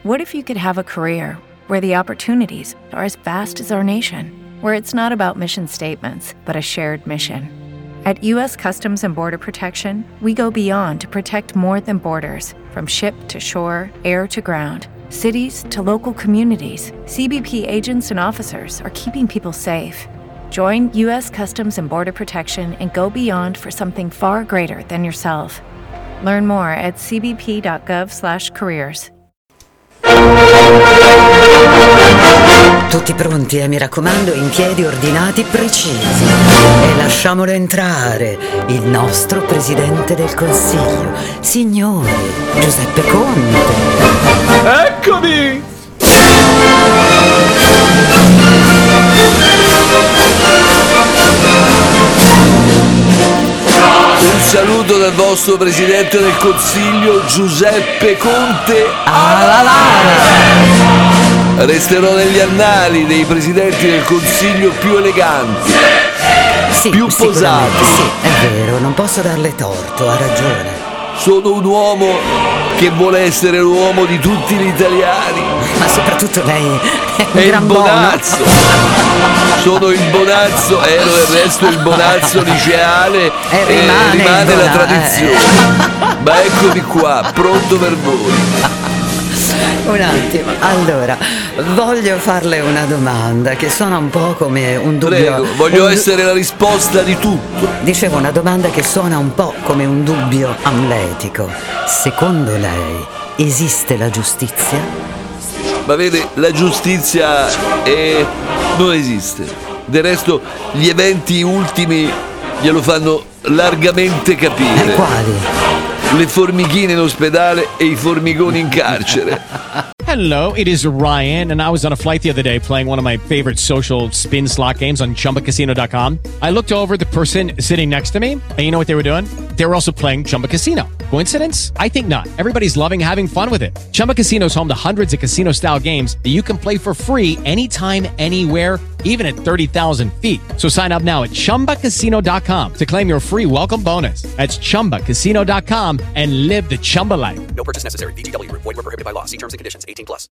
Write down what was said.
What if you could have a career where the opportunities are as vast as our nation, where it's not about mission statements, but a shared mission? At U.S. Customs and Border Protection, we go beyond to protect more than borders. From ship to shore, air to ground, cities to local communities, CBP agents and officers are keeping people safe. Join U.S. Customs and Border Protection and go beyond for something far greater than yourself. Learn more at cbp.gov/careers. Tutti pronti, mi raccomando, in piedi ordinati precisi. E lasciamolo entrare, il nostro Presidente del Consiglio, signore Giuseppe Conte. Eccomi! Un saluto dal vostro Presidente del Consiglio, Giuseppe Conte alla Lara. Resterò negli annali dei Presidenti del Consiglio più eleganti, Sì, più posati. Sì, è vero, non posso darle torto, ha ragione. Sono un uomo che vuole essere l'uomo di tutti gli italiani. Ma soprattutto lei è un È il gran buono. Bonazzo. Sono il Bonazzo, ero del resto il Bonazzo liceale E rimane la il tradizione. Ma eccomi qua, pronto per voi. Un attimo, allora, voglio farle una domanda che suona un po' come un dubbio. Prego, voglio essere la risposta di tutto. Dicevo una domanda che suona un po' come un dubbio amletico. Secondo lei esiste la giustizia? Ma vede, la giustizia non esiste. Del resto, gli eventi ultimi glielo fanno largamente capire. Quali? Le formichine in ospedale e i formigoni in carcere. Hello, it is Ryan, and I was on a flight the other day playing one of my favorite social spin slot games on ChumbaCasino.com. I looked over at the person sitting next to me, and you know what they were doing? They were also playing Chumba Casino. Coincidence? I think not. Everybody's loving having fun with it. Chumba Casino is home to hundreds of casino-style games that you can play for free anytime, anywhere, even at 30,000 feet. So sign up now at ChumbaCasino.com to claim your free welcome bonus. That's ChumbaCasino.com and live the Chumba life. No purchase necessary. VGW. Void where prohibited by law. See terms and conditions. 18+.